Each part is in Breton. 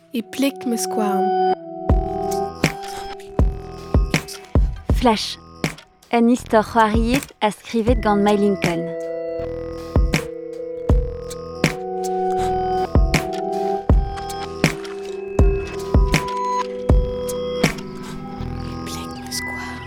E plik me skouarn. Flash, un istor c'hoariet a skrivet gant My Lincoln. Plik me skouarn.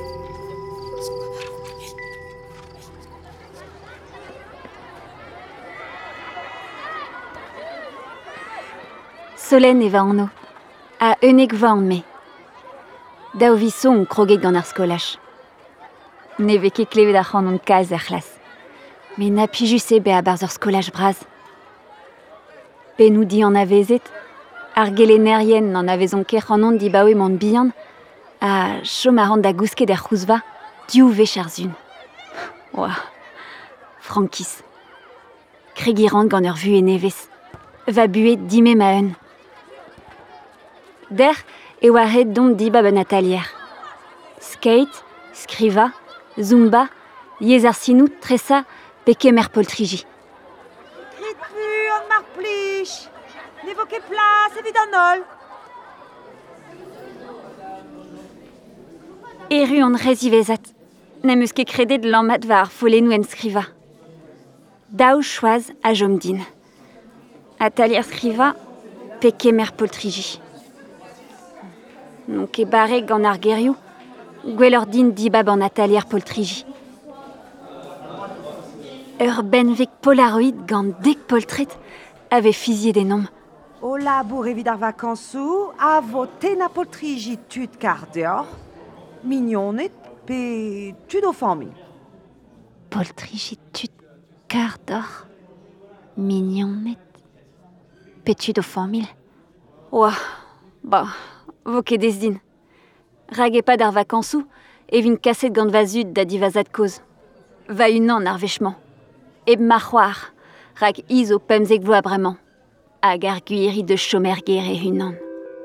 Solen eva anno, a unnek va an me. Daou vi son kroget gant ar skolach. Ne vez ket klevet ar c'hanon kaz ar c'hlas. Me na pijus ebe a barz ur skolach braz. Penou di an avezet, ar gelenerien n'an avezon ket c'hanon di baoe man bihan, a chom a ran da gousket er c'houzva, diou vech ar zun. Oa, frankis. Krigirant gant ur vu e nevez. Va buet dime ma eun. Der e oa ret dont dibab un atelier. Skate, skriva, zumba, yez ar sinou, tresa, pe kemer poltriji. Grit pu an mar plij. Ne vo ket plas evit an ol. Eru an rezivezat. Nem eus ket kredet lammat va ar follenou en skriva. Daou choaz a jom din. Atelier skriva, pe kemer poltriji. Non ket bare gant ar gerioù, gwell ur din dibab an atelier poltriji. Ur benveg polaroid gant dek poltret ave fiziet den nom. O labour evit ar vakansou, a vo ten a poltriji tud kar deoc'h, mignonet pe tud o familh. Poltriji tud kar d'or, mignonet, petud o familh. Oa, ba, vo ket ez din. Rag epad ar vakansou, evin kaset gant vazud da divazat koz. Va unan ar vechman. Eb ma c'hoar, rag iz o pemzek vloa bremañ. Hag ar gwiri de chomer gere unan.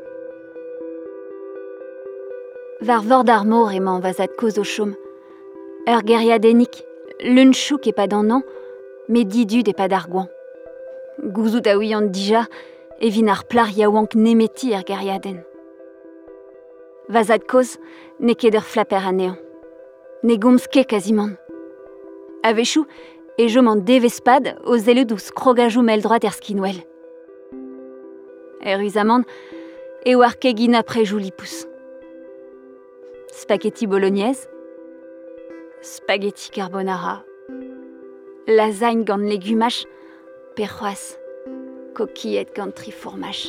Var vord ar mor emañ vazat koz o chom. Ur geriadennik, l'un chouk epad an an, me didud epad ar gouan. Gouzout a ouian dija, evin ar plar yaouank nemeti ar geriaden. Vazat koz, ne ket ur flapper anean. Ne gomz ket kaziman. Avechou, e jom an devespad o zelud ouz krogajou meldroat er skinwell. Eruzamant, e war kegin aprejou lipous. Spaghetti bolognaise, spaghetti carbonara, lasagne gant legumach, perroaz, coquillette gant trifourmach.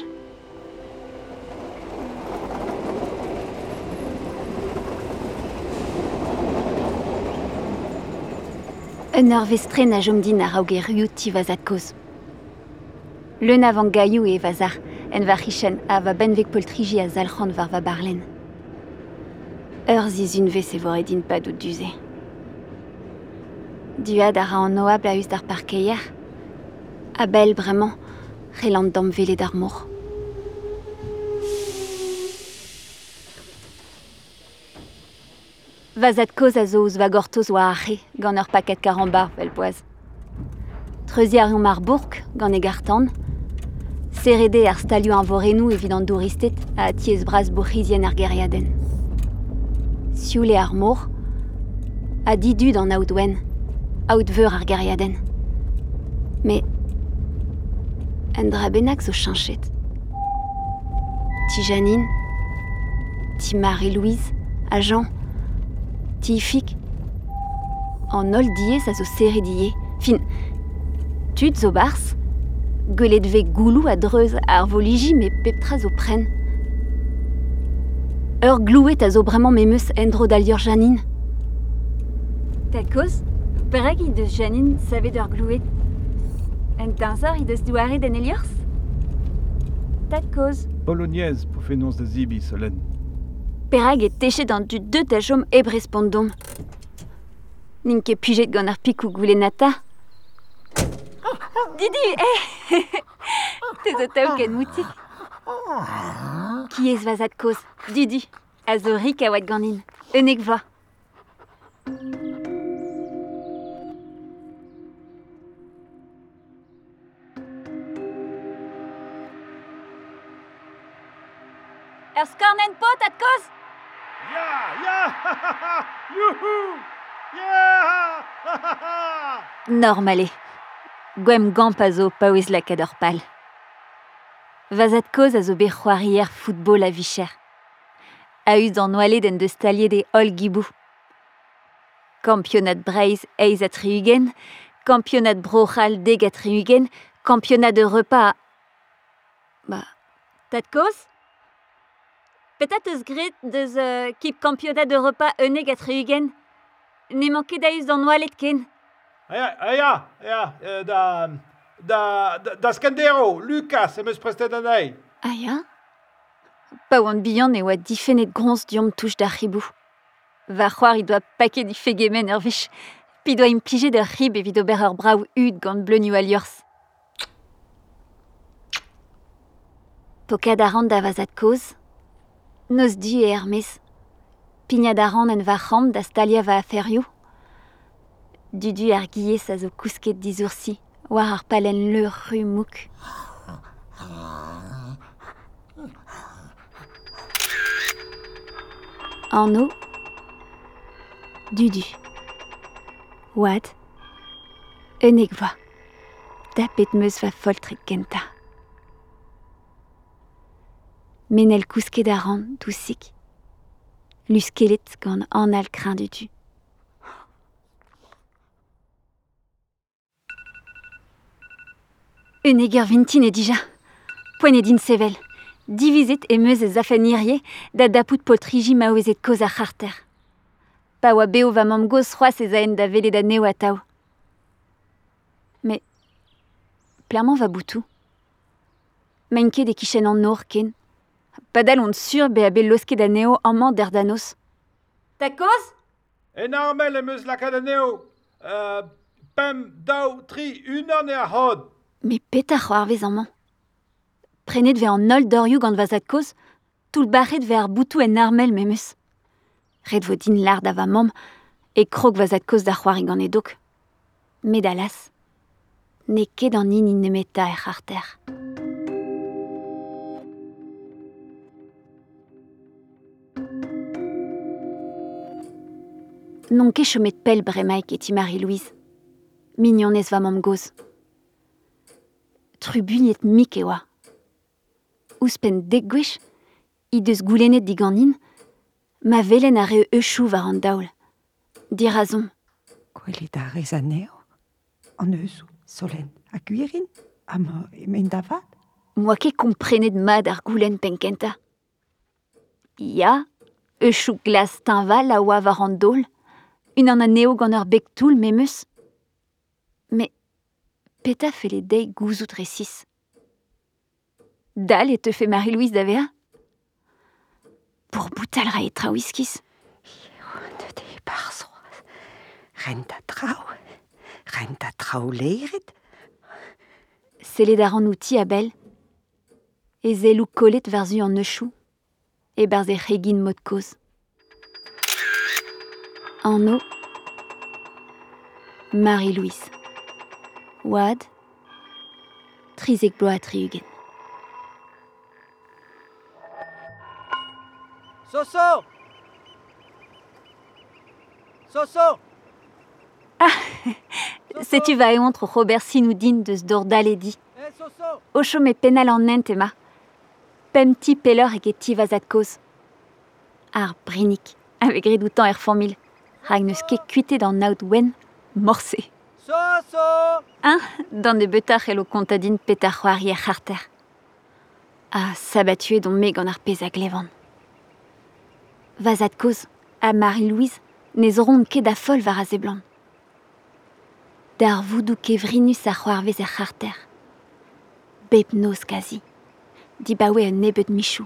Un ur vestren a jom din ar aogerioù ti vazat koz. Leun avant gaiou e vazar, en va richen a va benveg poltriji a zalc'hant var va barlen. Ur zizun vez e vore din padout duze. Duad a ra an oab a eus d'ar parkeier. A bel bremañ, relant dam vele d'ar mor. Vazat koz a zo ouz va gortoz oa ache gant ur paket karambar vel poaz. Treuziarion mar bourk gant e gartan. Serede ar stalioù an vorenou evit an douristet a tiez braz bourrizien ar geriaden. Sioule ar mor, a didud an aoudwen, aoud veur ar geriaden. Me, en dra bennak zo chanchet. Ti Janine, ti Marie-Louise, a Jean, ti Ifik, an ol diez a zo serediye, fin, tud zo bars, gwelet ve goulou a dreuz ar voliji me peptra zo pren. Ur glouet a zo bremañ memeus endro d'alior Janine. Ta koz, perek i deus Janine savet ur glouet. En tañsor i deus douare den eliors? Ta koz. Bolognaise pour fenonz da zibi, Solène. Perag e techet an dud deut a chom eb respondom. N'in ket pujet gant ar pikou goulenata. Didi, te zo taou ken moutik. Ki ez vazat koz, Didi, a zo rik a oad ganin. Unnek vloaz. skornen pot, Tatkos? Ja! Youhou! Yeah! Normale. Gwem gamp a zo paouez lakador pal. Vazat koz a zo bet c'hoarier football a vicher. A eus an oalet en deus taliet de ol gibou. Campionat Breiz eiz a triugen, campionat brochal deg a triugen, campionat de repas a... Tatkos? Petat eus gret deus kip campionat de repas uneg a triugen? Ne manket da eus an oalet ken. Ja, da Scandero, Lucas, eus prestet anei. Ah ya? Pa oan bihan e oa difennet gronz diom touch da ribou. Va c'hoar I doa paket di fegemen ur vich. Pi doa implije d'ur rib evit ober ur brav ud gant bleunioù al liorzh. Pokad a ran da vazat koz. Noz du e Hermes. Pignad a ran en va c'hamp da stalia va aferioù. Dudu ar giez a zo kousket dizoursi, war ar palen leur ru mouk. En eau, Dudu. Oad, uneg voa. Da pet meus va foltrik genta. Menel kousket a ran dousik. Luskelet gant an al krin Dudu. Uneg ur vintin e dija. Poent din sevel. Divizet e meus e zafenirier da dapout poltriji maouezet koz ar c'harter. Pa oa beo va mam goz c'hoaz ez aen da velet aneo a tao. Me, plerman va boutou. Main ket e kichen an nor ken. Padal on sur be a bel losket aneo amman der danos. Takoz? En armel eus lakadaneo. Pem, daou, tri, unan e a hod. Me peta c'hoarvez amman. Prenet ve an ol dorioù gant vazat koz, tout barret ve ar boutou en armel memeus. Red vo din lard a va mam, e krog vazat koz da c'hoari gant edok. Met alas, ne ket an in nemeta e c'harter. Non ket chomet pel bremaik eti Marie-Louise. Mignonez va mam goz. Trubuniet mik e oa. Ouspen degwech, I deus goulennet diganin, ma velen a reo euchou war an daoul. Di razon. Gwelet a rez aneo, an eusou, solen, a guirin, ama emen da vat. Moa ket komprenet mad ar goulen penkenta. Ya, euchou glas tinval a oa war an daoul, un an aneo gant ur beg toul memeus. Me, peta fele dei gouzout resis. Dal et te fait Marie-Louise d'avea? Pour boutal ra etra whiskis. De de barzoaz. Renta trao leiret. Sellet ar an outi a bel. E zelou kolet varzu an neuchou. E barze c'hegin mod koz. En eau, Marie-Louise. Oad, trizek bloa triugen. Soso! Soso! Setu va eontre Robert Sinoudin deus dordal edi. Soso! Ocho me penal an ent ema. Pem ti peller eg ti vazat koz. Ar brinik, avec redoutan er formil. Rag neus ket kuitet an naout wen, morse. Soso! Dan de beutach elo kontadin petar c'hoari er c'harter. Ah, sabatue don me gant ar pez a glevan. Vazat koz, a Marie-Louise, nez ronde ket da fol var a zeblan. Dar voudou kevrinus a c'hoarvez er c'harter. Bep noz kazi. Di bawe un nebet michou.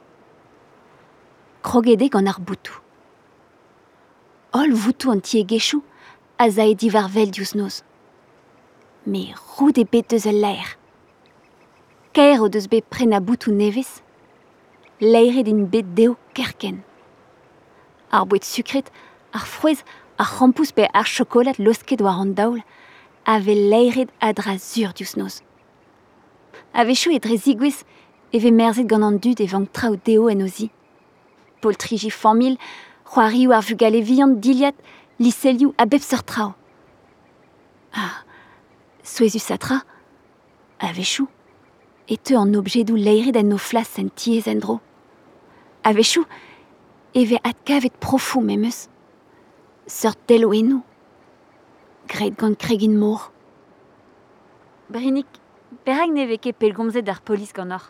Krogede gant ar boutou. Ol voutou an tie gechou, a zae di var vel diouz noz. Me roud e bet deus ul laer. Kaer o deus bet pren a boutou nevez, laeret din bet deo kerken. Ar bouet sukret, ar frouez, ar c'hampous pe ar chokolat losket war an daoul, ave laeret a dra zur diouz noz. Ave chou e dre zigwez, eve merzet gant an dud evang traoù deo en ozi. Poltriji famil, c'hoarioù ar vugaleviant diliat, liselioù a bep seur trao. Ah, souezus a tra, a vechou, et te an objedou leiret en no flas en tiez en dro. A vechou, eve at kavet profou memeus. Seurt delo enou. Gret gant kregin mor. Brinik, perak neve ket pellgomzet ar polis gant or.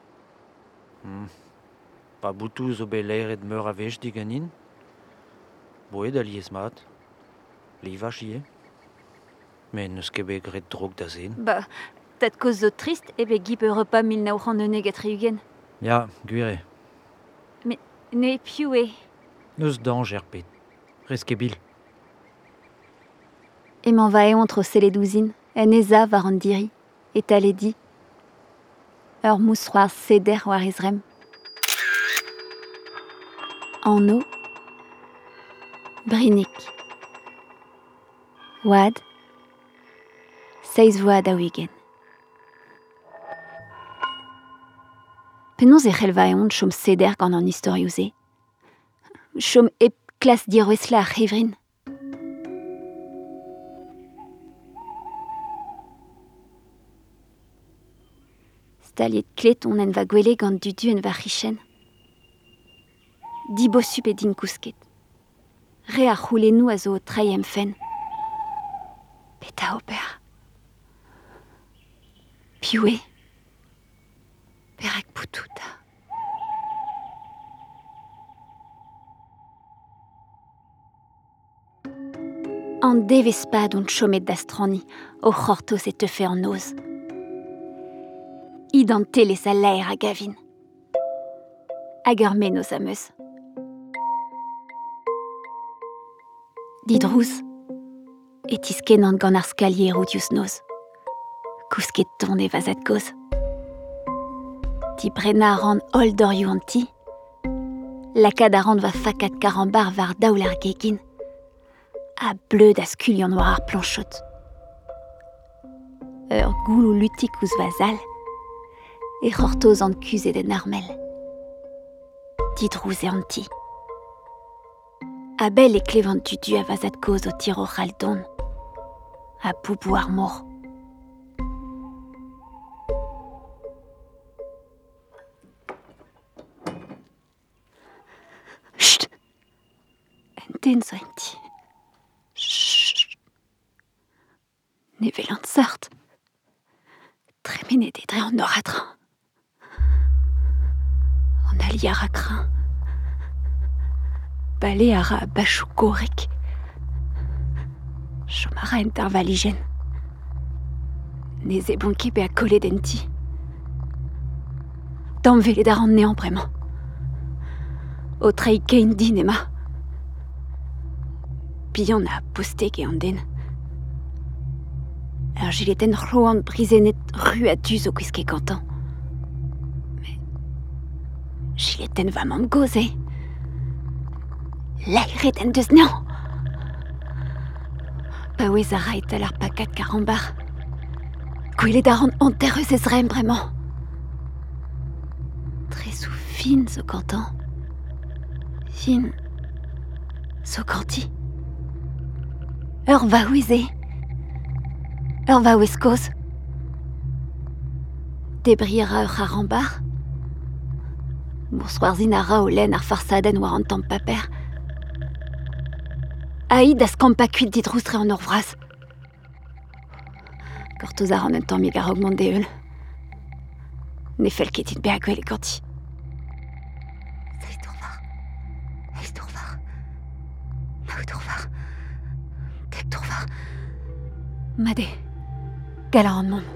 Pa boutou zo bet leiret meur a vech diganin. Boe da liez mat. Liva chie. Men eus ket bet gret drog da zen. Bah, tat koz zo trist eve gip Europa 1909 et triugen. Ya, gwire. Ne piou e. Eus danj er pet. Rez ket bil. Emañ va eont tro seledouzin, en eza war an diri, et ale di. Ur mousroar seder war ezrem. An o, Brinik. Oad, seiz voa da wigen. Penaos e c'hell va eont chom seder gant an istorioù-se. Chom ep klas dirouezla ar c'hevrin. Staliet klet on en va gwele gant dudu en va richen. Di bossup e din kousket. Re ar c'houlennoù a zo o traiem fen. Peta ober. Piou e. Perak poutouta. An devez pad on chomet d'astrani, o c'hortoz e tefe an oz. Idante les a laer a gavin. Hag ur menoz am eus. Didrouz, et iskenant gant ar skalieroù diouz noz. Kousket ton e vazat goz. Di brena ran hol dorioù an ti. Lakad a ran va fakat karambar var daoul ar gegin. A bleud a skulion war ar planchot. Ur goulou lutik ouz vazal. E c'hortoz an kuzet en armel. Didrouz e an ti. A bel e klevant dudu a vazat koz o tiro c'haldon. A boubou ar mor. Chut! En den zo en ti. Chut! Ne velant sart. Tremenet e dre an oradran. An ali a rakran. Bale a ra a bachou gorek. Chomara en tar valigen. Ne ze bonke be a kolet en ti. Tamm velet a ran nean bremañ. O trei kein din ema. Bihan a posteg e an den. Ur gileten c'hloan brisenet ru a duz o kwiske kantan. Mais gileten va mam goze. Lairet en deus nean. Pa ouez a rait al ar pakat karambar. Gwelet a ran anterreus ezrem bremañ. Trezou fin zo kantan. Fin zo kanti. Ur va oueze. Ur va ouez koz. Debriera ur c'harambar. Mousroarzin a ra o len ar farsadenn war an tamm paper. Aïd a skampa kuit didrouz tre an ur vraz. Gortoz a ran un tamm a augment de eul. Ne fel ket be a gwell e ganti. Eiz dourvar. Naou dourvar. Dek dourvar. Made. Galar an mom.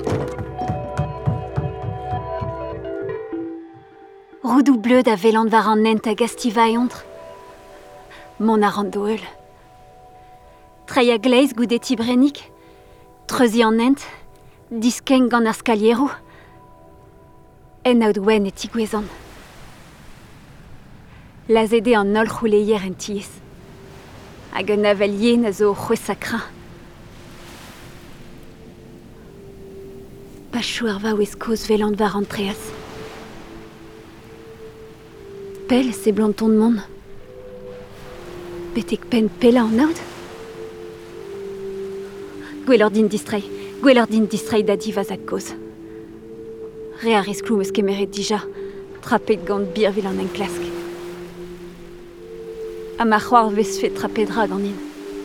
Roudou bleud a velant war an nent a gastiva e ontr. Mon a ran do eul. Trei a gleiz goudet ibrenik. Treuzi an nent. Diskeng gant ar skalieroù. En aout wen e tigwezan. Lazede an ol c'houleier en tiez. Hag un avel yen a zo o c'hwez sakra. Pachou ar va ouez koz velant war an treaz. pelle, ces blancs de monde. Betek pen pella en aoud. Gwellordin distray dadi vazat koz. Re a rez klou eus kemeret dija, trapet gant birvil an en klask. Ha ma c'hoar vez fet trapedra gant in.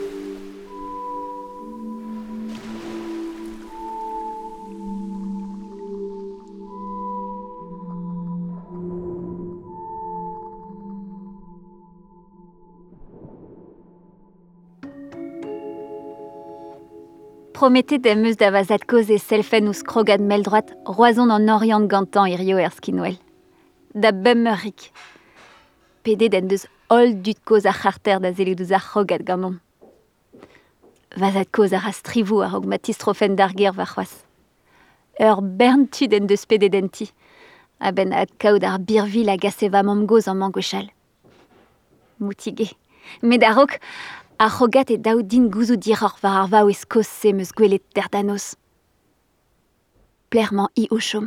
Promettez d'em eus da vazat koz e selfen ouz krogad mel droat roazon an orient gantan irio skinwell. Da bemmer rik. Pede d'en deus ol dut koz ar c'harter da zelet ouz ar krogad ganon. Vazat koz ar astrivou ar og matistrofen d'arger va c'hoaz. Ur bern tud en deus pede denti. A ben ad kaout ar birvil a gase va mamgoz an mangochal. Moutige. Met a rok, a c'hogat e daout din gouzou diror var ar vaou eskoz se meus gwelet derdanos. Plerman i o chom.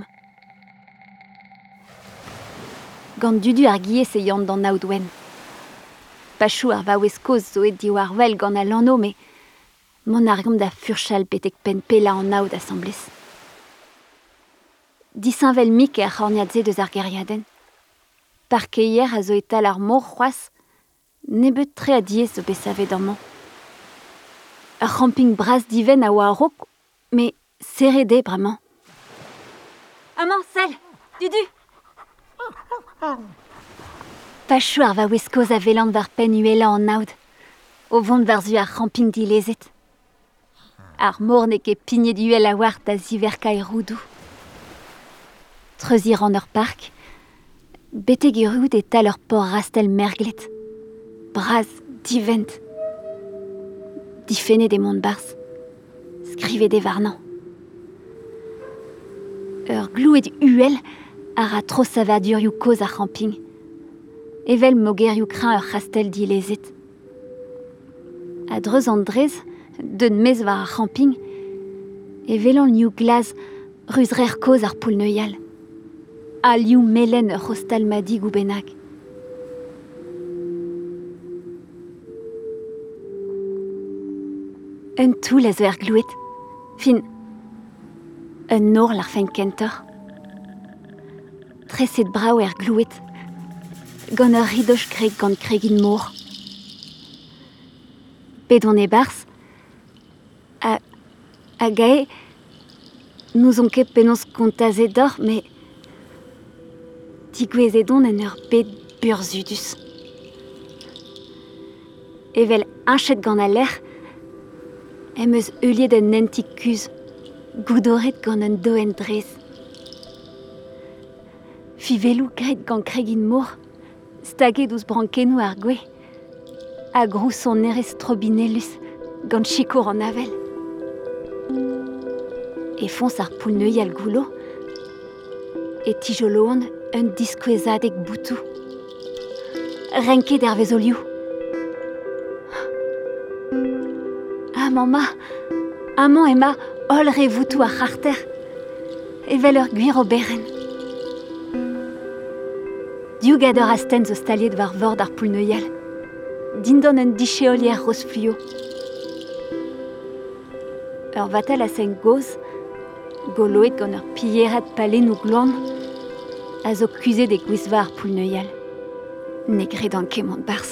Gant dudu ar gie se yant d'an naout wen. Pachou ar vaou eskoz zo et diou ar vel gant a lanno, me mon argom da furchal petek pen pella an naout assemblez. Disinvel mik e ar c'horniadze deus ar geriaden. Parke hier a zo etal ar mor c'hoaz, nebet tre a diez zo besavet an man. Ur camping bras diven a oa a rok, me serede bremañ. Amañ, sel, dudu! Pachou ar va weskoz a velant var pen uela an naoud, o vont var zu ar camping dilezet. Ar mor ne ket pignet uel a war da ziverka e roudou. Treuzir an ur park, beteg erout et tal ur por rastel merglet. Braz, divent. Difene des mont bars. Skrive des varnan. Ur glou et uel ar a tro savadurioù koz ar camping. Evel mogerioù kran ur rastel dilezet. A dreuz an drez, d'un mez war ar camping, evelan liou glaz ruz rer koz ar poulneuial. A liou melen ur hostal madig ou benag. Un toul a zo er glouet. Fin, un nor l'ar fein kentor. Treset brao er glouet. Gant ur ridoch greg gant kregin mor. Bedon e bars. A gae, nous on ket penaos kontazet dor, me digouezedon en ur bed burzudus. Evel inchet gant a ler, em eus euliet un nentik kuz, goudoret gant un doen drez. Fivelou gret gant kregin mor, staget ouz brankenou ar gwe, a grousson nerez trobinellus gant chikour an avel. E fons ar poulneuial goulo, e tijoloan un diskouezadeg boutou. Renket ervezolioù. Mama, amañ ema ol re voutou ar c'harter, evel ur gwir o beren. Diougador asten zo staliet var vord ar poulneuial, dindan un dicheolier roz fluo. Ur vatal a sen goz, goloet gant ur pillerat palen ou glan, a zo kuzet e gwizva ar poulneuial. Negret an kemont bars.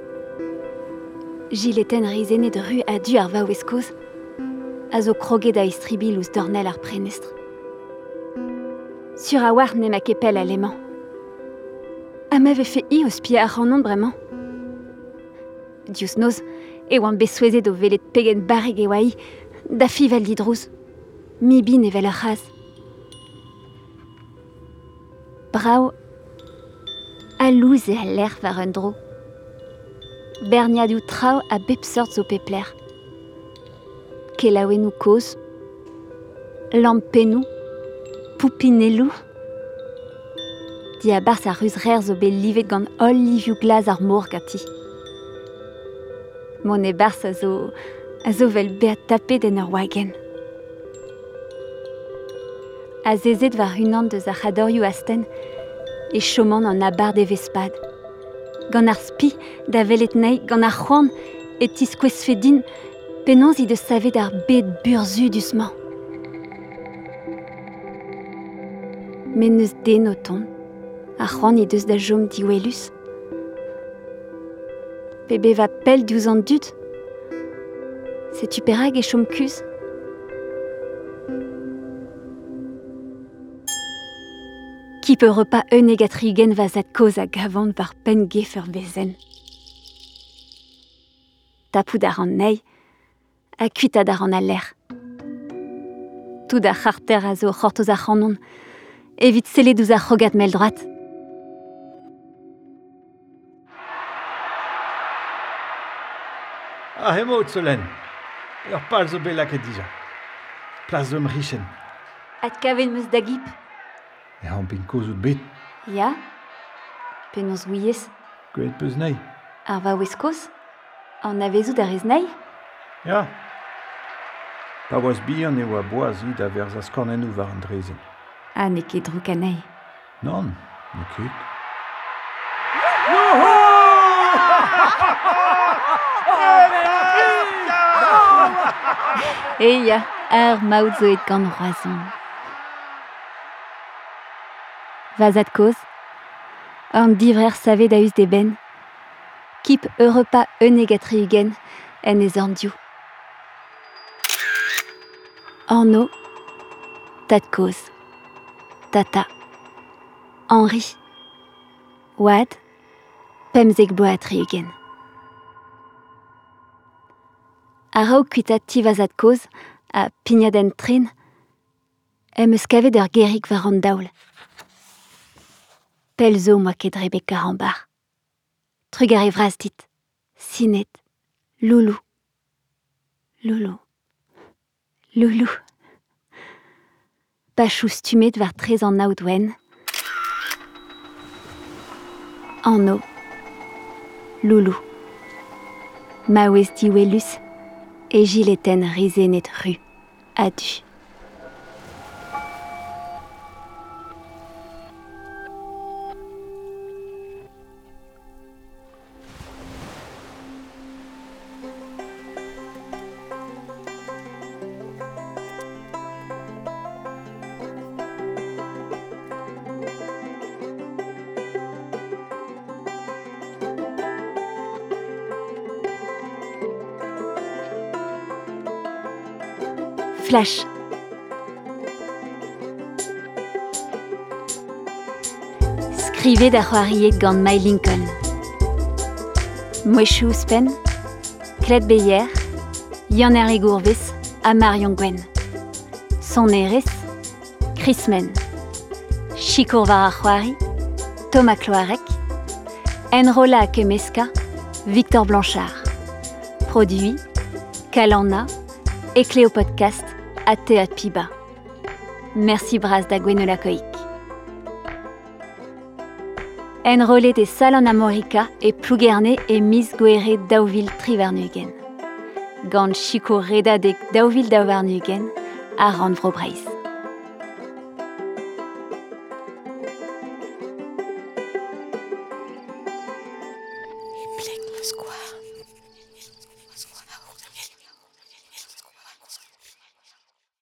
Gileten rizene de ru a du ar va weskoz, a zo kroget a estribil ouz dornel ar prenestre. Sur a war ne ma kepel a leman. A m'ave fe i eus pia ar c'hanon bremañ. Diouz noz, e oan besouezet o velet pegen barreg e oa i, da fivel didrouz. Mi bin evel ur c'haz. Brao, a louz e a ler var un dro. Berniadou trao a bep sort zo pepler. Kelaouenou koz, lampenou, poupinellou. Di a bars a ruz rer zo bet livet gant ol livioù glaz ar mor gati. Mon e bars a zo vel bet tapet en ur wagen. A zezet var unan deus ar c'hadorioù asten e choman an abar de vespad. gant ar spi da welet nei gant ar c'hoant et tiskwezfe din penons i de savet ar bet burzudus-mañ. Men neus den o ton, ar c'hoant i deus da jom diwelus. Pe va pell diouz an dud. Setu perag e chom kuz? Ki peut repas uneg a trigen va zad koz a gavant var pen gefer bezen. Tapout ar an nei, a kuitad ar an aller. Tout ar c'harter a zo c'hortoz ar c'hanon, evit seledouz ar c'hogat mel droat. Ah, hemaout solen. Ur pal zo bet lakaet dija. Plas zo mrichen. Ad kaven meus da gip. E an pin kozout bet. Ya? Penons ouiez. Gwelet peus nei. Ar va oueskoz? An avezout ar ez nei? Ya. Pa oaz bihan e oa boaz id a verz a skornennoù war an drezen. Ah, ne ket drouk a nei. Non, ne ket. Eia, ar maout zo et gant roazon. Vazad koz, an divrer savet da eus de ben, kip repas uneg a triugen en ez an diou. Anno, tad koz, tata, Henri, Wad, pemzek boa a triugen. A raoù kuitat ti vazad koz, a pignaden tren, eus kavet ur gerig war an daoul. Pel zo moa ket rebek ar an bar. Trug ar e vraz dit. Sinet. Loulou. Loulou. Loulou. Pachou stumet war trez an naoudwen. Anno. Loulou. Maouez diwelus. E gileten rizenet ru. Adu. Flash. Skrivet da c'hoariet gant My Lincoln. Mouechou ouspenn, Kled Beyer, Yann Hervé Gourves a Marion Gwen. Son erez, Chris Men. Chikour var ar c'hoari, Thomas Cloarec. Enrola a Kemeska, Victor Blanchard. Produit, Kalana, et Cléo Podcast, à Théâtre Piba. Merci braz da gwenola koik. Enrolé des Salon Amorica et Plougerne et Miss Guére Dauville Trivernugen. Gant Chico Reda de Dauville Dauvernugen à Randvrobreis.